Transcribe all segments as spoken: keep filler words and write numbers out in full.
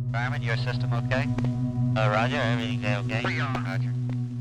Garmin, your system okay? Uh, Roger, everything okay? Roger.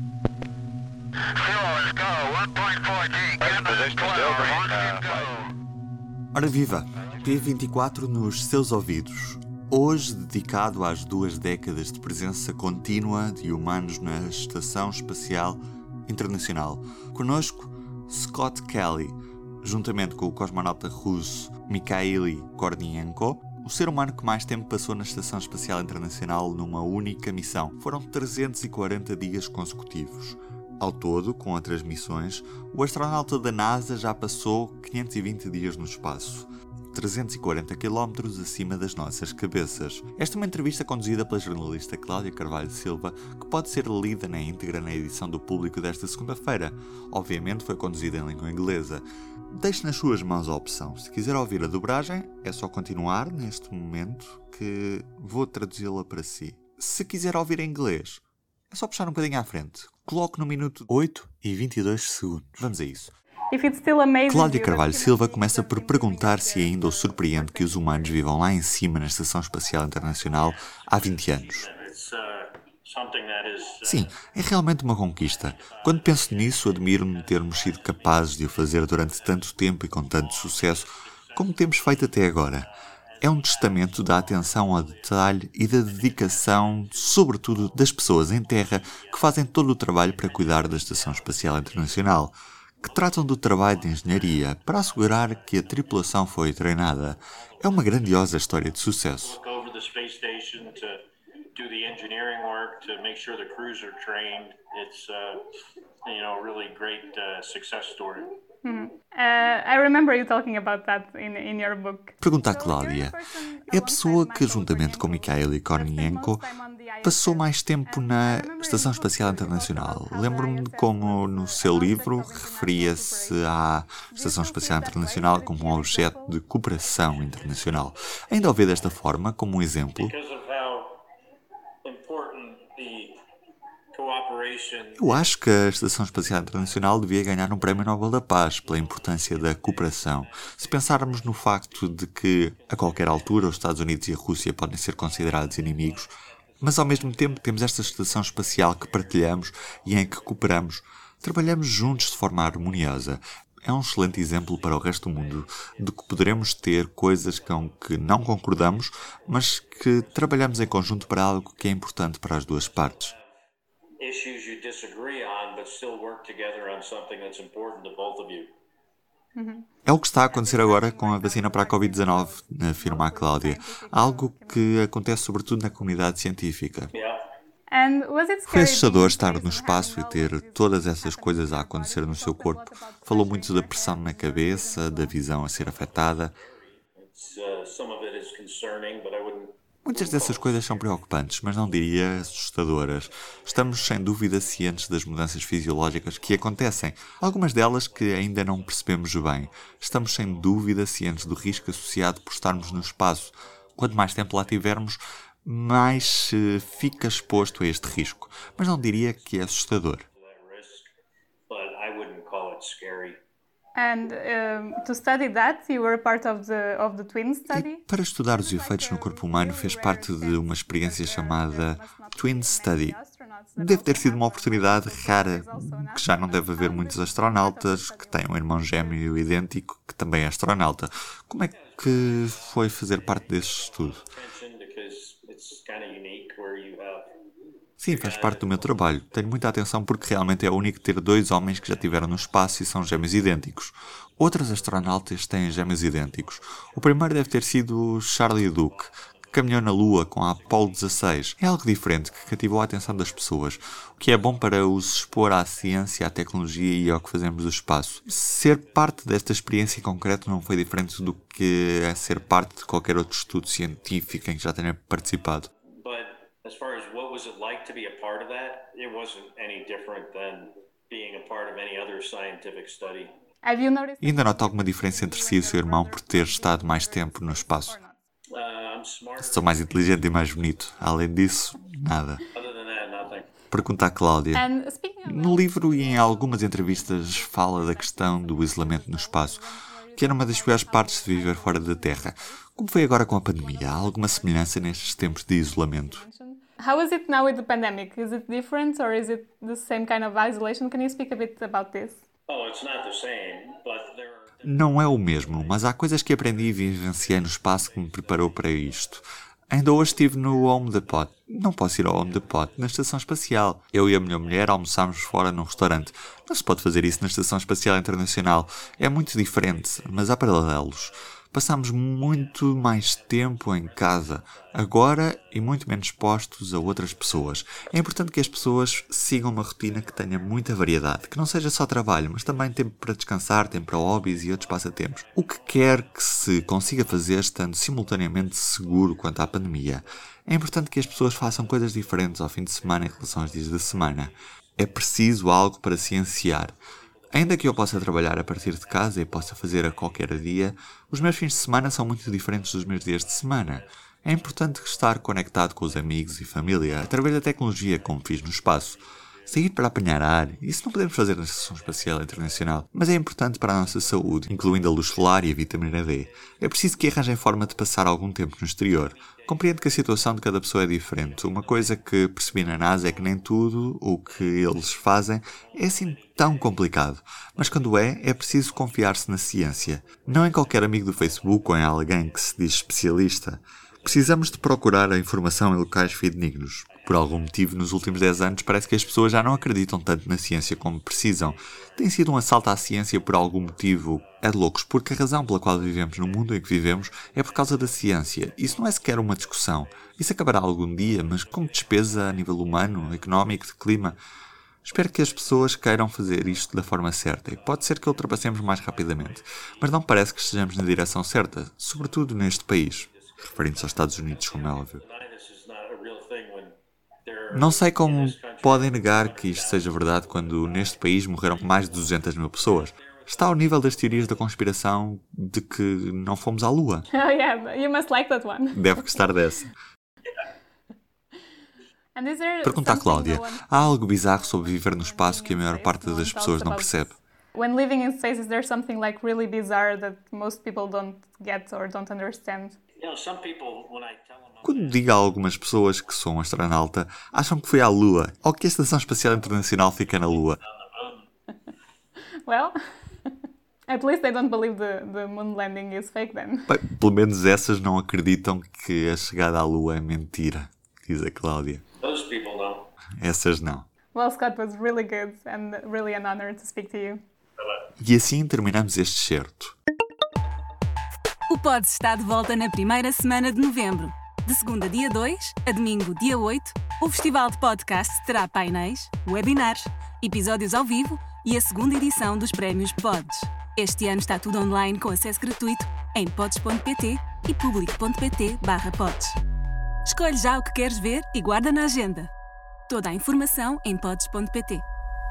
Fuel, let's go. one point four G. Present position still green. Uh, flight. Ora viva! P vinte e quatro nos seus ouvidos. Hoje dedicado às duas décadas de presença contínua de humanos na Estação Espacial Internacional. Connosco, Scott Kelly, juntamente com o cosmonauta russo Mikhail Kornienko, o ser humano que mais tempo passou na Estação Espacial Internacional numa única missão. Foram trezentos e quarenta dias consecutivos. Ao todo, com outras missões, o astronauta da NASA já passou quinhentos e vinte dias no espaço, trezentos e quarenta quilómetros acima das nossas cabeças. Esta é uma entrevista conduzida pela jornalista Cláudia Carvalho Silva, que pode ser lida na íntegra na edição do Público desta segunda-feira. Obviamente foi conduzida em língua inglesa. Deixe nas suas mãos a opção. Se quiser ouvir a dobragem, é só continuar neste momento que vou traduzi-la para si. Se quiser ouvir em inglês, é só puxar um bocadinho à frente. Coloque no minuto oito e vinte e dois segundos. Vamos a isso. Cláudia Carvalho Silva começa por perguntar se ainda o surpreende que os humanos vivam lá em cima na Estação Espacial Internacional há vinte anos. Sim, é realmente uma conquista. Quando penso nisso, admiro-me termos sido capazes de o fazer durante tanto tempo e com tanto sucesso como temos feito até agora. É um testamento da atenção ao detalhe e da dedicação, sobretudo, das pessoas em terra que fazem todo o trabalho para cuidar da Estação Espacial Internacional, que tratam do trabalho de engenharia para assegurar que a tripulação foi treinada. É uma grandiosa história de sucesso. Mm-hmm. Uh, I remember you talking about that in, in your book. Pergunta a Cláudia. É a pessoa que, juntamente com Mikhail Kornienko, passou mais tempo na Estação Espacial Internacional. Lembro-me de como, no seu livro, referia-se à Estação Espacial Internacional como um objeto de cooperação internacional. Ainda o vê desta forma, como um exemplo? Eu acho que a Estação Espacial Internacional devia ganhar um Prémio Nobel da Paz pela importância da cooperação. Se pensarmos no facto de que, a qualquer altura, os Estados Unidos e a Rússia podem ser considerados inimigos, mas ao mesmo tempo temos esta estação espacial que partilhamos e em que cooperamos, trabalhamos juntos de forma harmoniosa. É um excelente exemplo para o resto do mundo de que poderemos ter coisas com que não concordamos, mas que trabalhamos em conjunto para algo que é importante para as duas partes. Issues you disagree on, but still work together on something that's important to both of you. É o que está a acontecer agora com a vacina para a covid dezanove, afirma a Cláudia. Algo que acontece sobretudo na comunidade científica. Foi assustador estar no espaço e ter todas essas coisas a acontecer no seu corpo. Falou muito da pressão na cabeça, da visão a ser afetada. Muitas dessas coisas são preocupantes, mas não diria assustadoras. Estamos sem dúvida cientes das mudanças fisiológicas que acontecem, algumas delas que ainda não percebemos bem. Estamos sem dúvida cientes do risco associado por estarmos no espaço. Quanto mais tempo lá tivermos, mais se fica exposto a este risco, mas não diria que é assustador. And um, to study that, you were part of the of the twin study? E para estudar os efeitos no corpo humano, fez parte de uma experiência chamada Twin Study. Deve ter sido uma oportunidade rara, que já não deve haver muitos astronautas que têm um irmão gêmeo idêntico que também é astronauta. Como é que foi fazer parte desse estudo? Sim, faz parte do meu trabalho. Tenho muita atenção porque realmente é único ter dois homens que já estiveram no espaço e são gêmeos idênticos. Outros astronautas têm gêmeos idênticos. O primeiro deve ter sido Charlie Duke, que caminhou na Lua com a Apollo dezasseis. É algo diferente que cativou a atenção das pessoas, o que é bom para os expor à ciência, à tecnologia e ao que fazemos do espaço. Ser parte desta experiência em concreto não foi diferente do que é ser parte de qualquer outro estudo científico em que já tenha participado. As far as what was it like to be a part of that, it wasn't any different than being a part of any other scientific study. E ainda nota alguma diferença entre si e o seu irmão por ter estado mais tempo no espaço? Sou mais inteligente e mais bonito. Além disso, nada. Pergunta a Cláudia. No livro e em algumas entrevistas fala da questão do isolamento no espaço. que era uma das piores partes de viver fora da Terra. Como foi agora com a pandemia? Há alguma semelhança nestes tempos de isolamento? How is it now with the pandemic? Is it different or is it the same kind of isolation? Can you speak a bit about this? Oh, it's not the same, but there are... Não é o mesmo, mas há coisas que aprendi e vivenciei no espaço que me preparou para isto. Ainda hoje estive no Home Depot. Não posso ir ao Home Depot na Estação Espacial. Eu e a minha mulher almoçámos fora num restaurante. Não se pode fazer isso na Estação Espacial Internacional. É muito diferente, mas há paralelos. Passámos muito mais tempo em casa, agora e muito menos expostos a outras pessoas. É importante que as pessoas sigam uma rotina que tenha muita variedade, que não seja só trabalho, mas também tempo para descansar, tempo para hobbies e outros passatempos. O que quer que se consiga fazer estando simultaneamente seguro quanto à pandemia. É importante que as pessoas façam coisas diferentes ao fim de semana em relação aos dias da semana. É preciso algo para se ansiar. Ainda que eu possa trabalhar a partir de casa e possa fazer a qualquer dia, os meus fins de semana são muito diferentes dos meus dias de semana. É importante estar conectado com os amigos e família através da tecnologia, como fiz no espaço. Sair para apanhar ar, isso não podemos fazer na Estação Espacial Internacional, mas é importante para a nossa saúde, incluindo a luz solar e a vitamina D. É preciso que arranjem forma de passar algum tempo no exterior. Compreendo que a situação de cada pessoa é diferente. Uma coisa que percebi na NASA é que nem tudo o que eles fazem é assim tão complicado. Mas quando é, é preciso confiar-se na ciência. Não em qualquer amigo do Facebook ou em alguém que se diz especialista. Precisamos de procurar a informação em locais fidedignos. Por algum motivo, nos últimos dez anos, parece que as pessoas já não acreditam tanto na ciência como precisam. Tem sido um assalto à ciência por algum motivo. É de loucos, porque a razão pela qual vivemos no mundo em que vivemos é por causa da ciência. Isso não é sequer uma discussão. Isso acabará algum dia, mas com despesa a nível humano, económico, de clima. Espero que as pessoas queiram fazer isto da forma certa e pode ser que ultrapassemos mais rapidamente. Mas não parece que estejamos na direção certa, sobretudo neste país. Referindo-se aos Estados Unidos, como é óbvio. Não sei como podem negar que isto seja verdade quando neste país morreram mais de duzentas mil pessoas. Está ao nível das teorias da conspiração de que não fomos à Lua. Oh yeah, you must like that one. Deve gostar dessa. Pergunta à Cláudia. Há algo bizarro sobre viver no espaço que a maior parte das pessoas não percebe? When living in space, is there something like really bizarre that most people don't get or don't understand? You know, some people, when I tell them... Quando digo a algumas pessoas que sou um astronauta, acham que fui à Lua ou que a Estação Espacial Internacional fica na Lua. Well, at least they don't believe the, the moon landing is fake then. Bem, pelo menos essas não acreditam que a chegada à Lua é mentira, diz a Cláudia. Those people don't. Essas não. Well, Scott, was really good and really an honor to speak to you. E assim terminamos este certo. O Pods está de volta na primeira semana de novembro. De segunda, dia dois, a domingo, dia oito, o Festival de Podcast terá painéis, webinars, episódios ao vivo e a segunda edição dos Prémios Pods. Este ano está tudo online com acesso gratuito em pods ponto pt e public ponto pt barra pods. Escolhe já o que queres ver e guarda na agenda. Toda a informação em pods ponto pt.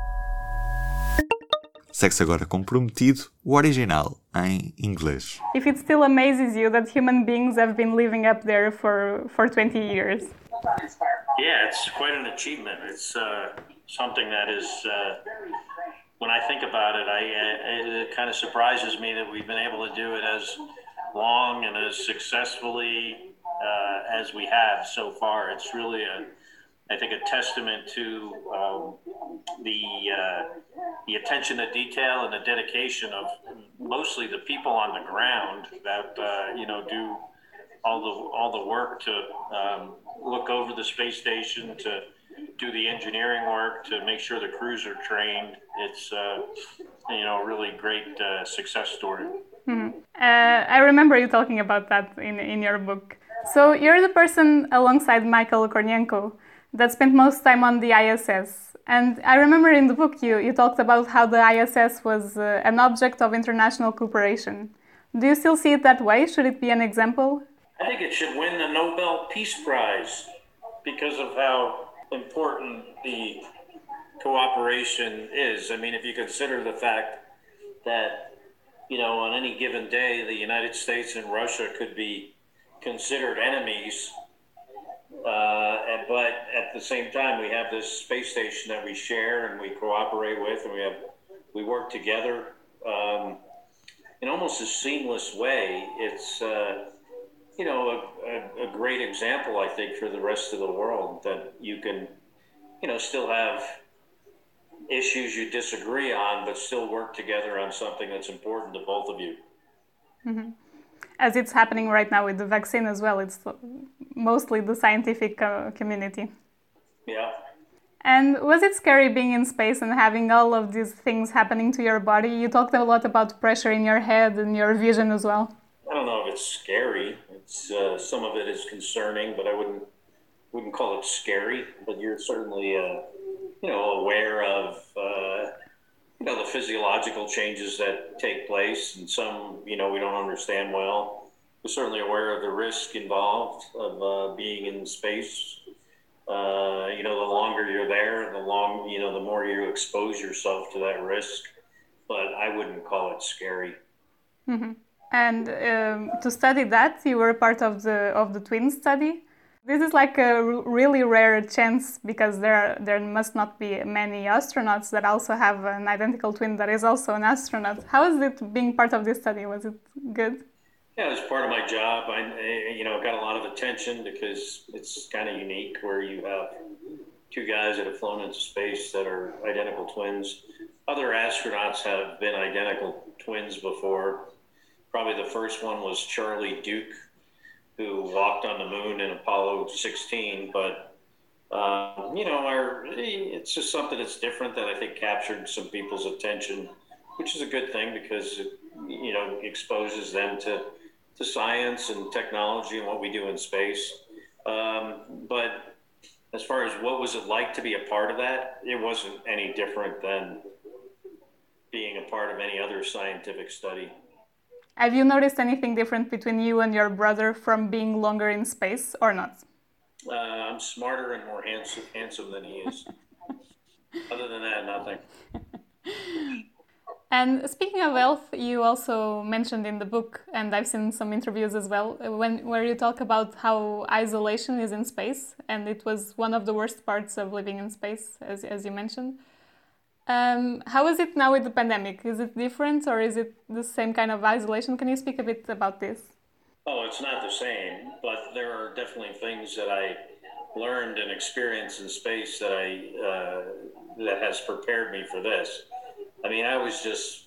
Segue-se agora comprometido o original em inglês. If it still amazes you that human beings have been living up there for, for twenty years. Yeah, it's quite an achievement. It's uh, something that is, uh, when I think about it, I, I, it kind of surprises me that we've been able to do it as long and as successfully uh, as we have so far. It's really a I think a testament to um, the uh, the attention to detail and the dedication of mostly the people on the ground that uh, you know do all the all the work to um, look over the space station, to do the engineering work, to make sure the crews are trained. It's uh, you know a really great uh, success story. Mm-hmm. Uh, I remember you talking about that in in your book. So you're the person alongside Michael Kornienko that spent most time on the I S S. And I remember in the book you, you talked about how the I S S was uh, an object of international cooperation. Do you still see it that way? Should it be an example? I think it should win the Nobel Peace Prize because of how important the cooperation is. I mean, if you consider the fact that, you know, on any given day, the United States and Russia could be considered enemies. Uh, but at the same time, we have this space station that we share and we cooperate with, and we have we work together. Um, in almost a seamless way. It's, uh, you know, a, a, a great example, I think, for the rest of the world that you can, you know, still have issues you disagree on, but still work together on something that's important to both of you. Mm-hmm. As it's happening right now with the vaccine as well, it's mostly the scientific uh, community. Yeah. And was it scary being in space and having all of these things happening to your body? You talked a lot about pressure in your head and your vision as well. I don't know if it's scary. It's uh, some of it is concerning, but I wouldn't wouldn't call it scary. But you're certainly, uh, you know, aware of uh, you know the physiological changes that take place, and some you know we don't understand well. We're certainly aware of the risk involved of uh, being in space. Uh, you know, the longer you're there, the long, you know, the more you expose yourself to that risk. But I wouldn't call it scary. Mm-hmm. And um, to study that, you were part of the of the twin study. This is like a r- really rare chance because there are, there must not be many astronauts that also have an identical twin that is also an astronaut. How is it being part of this study? Was it good? Yeah, it's part of my job. I, you know, got a lot of attention because it's kind of unique where you have two guys that have flown into space that are identical twins. Other astronauts have been identical twins before. Probably the first one was Charlie Duke, who walked on the moon in Apollo sixteen. But, um, you know, our, it's just something that's different that I think captured some people's attention, which is a good thing because it, you know, exposes them to to science and technology and what we do in space. Um, but as far as what was it like to be a part of that, it wasn't any different than being a part of any other scientific study. Have you noticed anything different between you and your brother from being longer in space or not? Uh, I'm smarter and more handsome, handsome than he is. Other than that, nothing. And speaking of health, you also mentioned in the book, and I've seen some interviews as well, when where you talk about how isolation is in space, and it was one of the worst parts of living in space, as as you mentioned. Um, how is it now with the pandemic? Is it different, or is it the same kind of isolation? Can you speak a bit about this? Oh, it's not the same, but there are definitely things that I learned and experienced in space that I uh, that has prepared me for this. I mean, I was just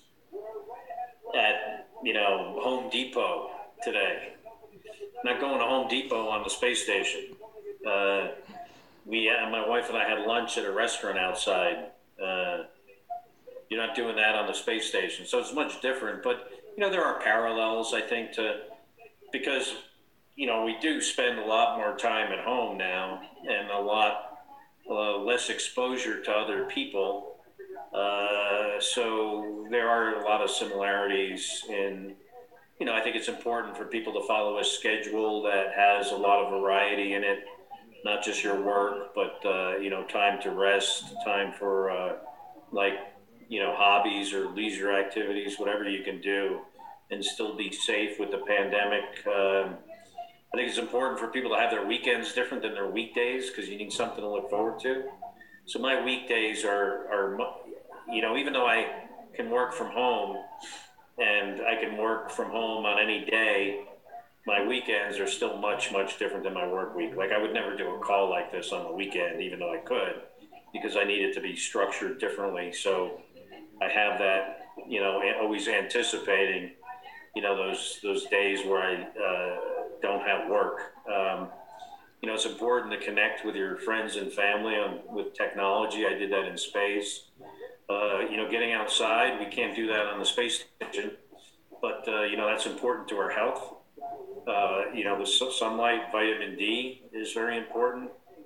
at, you know, Home Depot today. Not going to Home Depot on the space station. Uh, we, uh, my wife and I had lunch at a restaurant outside. Uh, you're not doing that on the space station. So it's much different. But, you know, there are parallels, I think, to, because, you know, we do spend a lot more time at home now and a lot uh, less exposure to other people. Uh, so there are a lot of similarities in, you know, I think it's important for people to follow a schedule that has a lot of variety in it, not just your work, but, uh, you know, time to rest, time for, uh, like, you know, hobbies or leisure activities, whatever you can do and still be safe with the pandemic. Um, I think it's important for people to have their weekends different than their weekdays because you need something to look forward to. So my weekdays are, are, you know, even though I can work from home and I can work from home on any day, my weekends are still much, much different than my work week. Like I would never do a call like this on the weekend, even though I could, because I need it to be structured differently. So I have that, you know, always anticipating, you know, those, those days where I uh, don't have work. Um, you know, it's important to connect with your friends and family on, with technology. I did that in space. Uh, you know, getting outside, we can't do that on the space station, but, uh, you know, that's important to our health. Uh, you know, the sunlight, vitamin D is very important.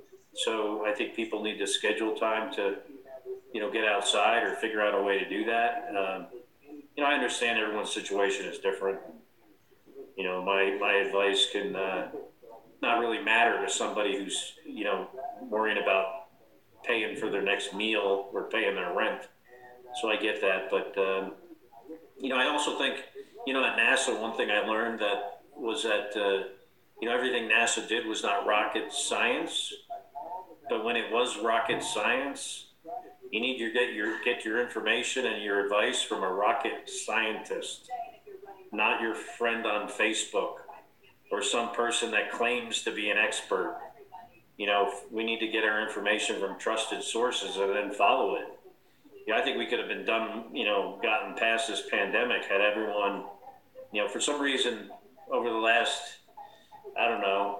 So I think people need to schedule time to, you know, get outside or figure out a way to do that. Um, you know, I understand everyone's situation is different. You know, my, my advice can uh, not really matter to somebody who's, you know, worrying about paying for their next meal or paying their rent. So I get that. But, um, you know, I also think, you know, at NASA, one thing I learned that was that, uh, you know, everything NASA did was not rocket science. But when it was rocket science, you need to get your, get your information and your advice from a rocket scientist. not your friend on Facebook or some person that claims to be an expert. You know, we need to get our information from trusted sources and then follow it. You know, I think we could have been done, you know, gotten past this pandemic had everyone, you know, for some reason over the last, I don't know,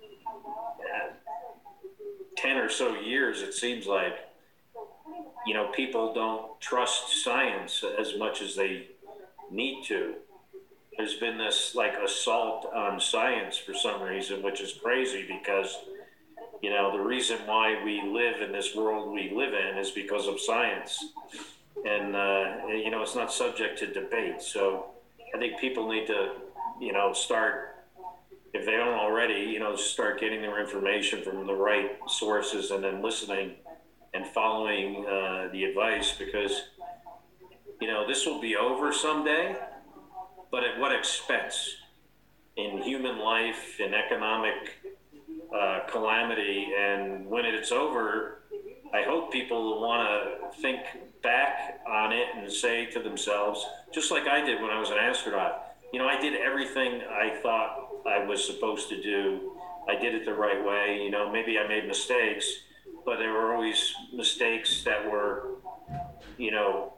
ten or so years, it seems like, you know, people don't trust science as much as they need to. There's been this like assault on science for some reason, which is crazy because, you know, the reason why we live in this world we live in is because of science. And, uh, you know, it's not subject to debate. So I think people need to, you know, start, if they don't already, you know, start getting their information from the right sources and then listening and following uh, the advice because, you know, this will be over someday, but at what expense? In human life, in economic uh, calamity, and when it's over, I hope people will want to think back on it and say to themselves, just like I did when I was an astronaut, you know, I did everything I thought I was supposed to do. I did it the right way. You know, maybe I made mistakes, but there were always mistakes that were, you know,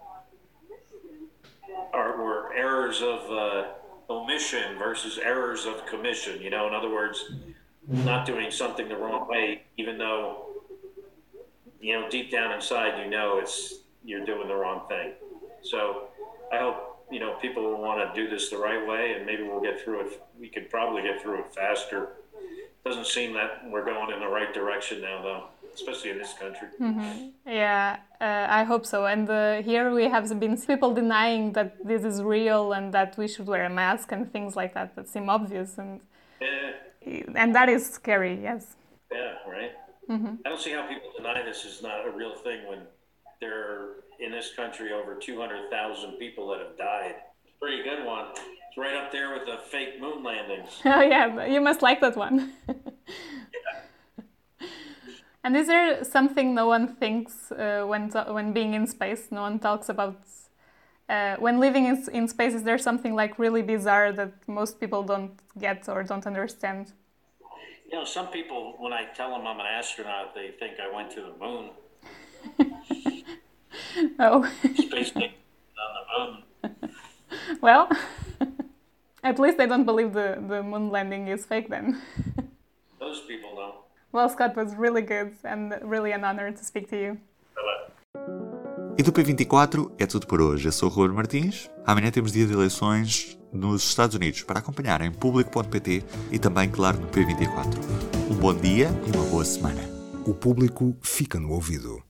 are, were errors of uh, omission versus errors of commission. You know, in other words, not doing something the wrong way, even though, you know, deep down inside, you know, it's, you're doing the wrong thing. So I hope, you know, people will want to do this the right way, and maybe we'll get through it. We could probably get through it faster. Doesn't seem that we're going in the right direction now, though, especially in this country. Mm-hmm. Yeah, uh, I hope so. And uh, here we have been people denying that this is real and that we should wear a mask and things like that that seem obvious. And Yeah, and that is scary, yes. yeah, right? Mm-hmm. I don't see how people deny this is not a real thing when there are, in this country, over two hundred thousand people that have died. Pretty good one. It's right up there with the fake moon landings. Oh yeah, you must like that one. And is there something no one thinks uh, when to- when being in space? No one talks about uh, when living in, in space. Is there something like really bizarre that most people don't get or don't understand? You know, some people, when I tell them I'm an astronaut, they think I went to the moon. Oh. Space station on the moon. Well, at least they don't believe the, the moon landing is fake then. Those people don't. Well, Scott, was really good and really an honor to speak to you. E do P vinte e quatro é tudo por hoje. Eu sou o Ruben Martins. Amanhã temos dia de eleições nos Estados Unidos para acompanhar em público ponto pt e também, claro, no P vinte e quatro. Um bom dia e uma boa semana. O Público fica no ouvido.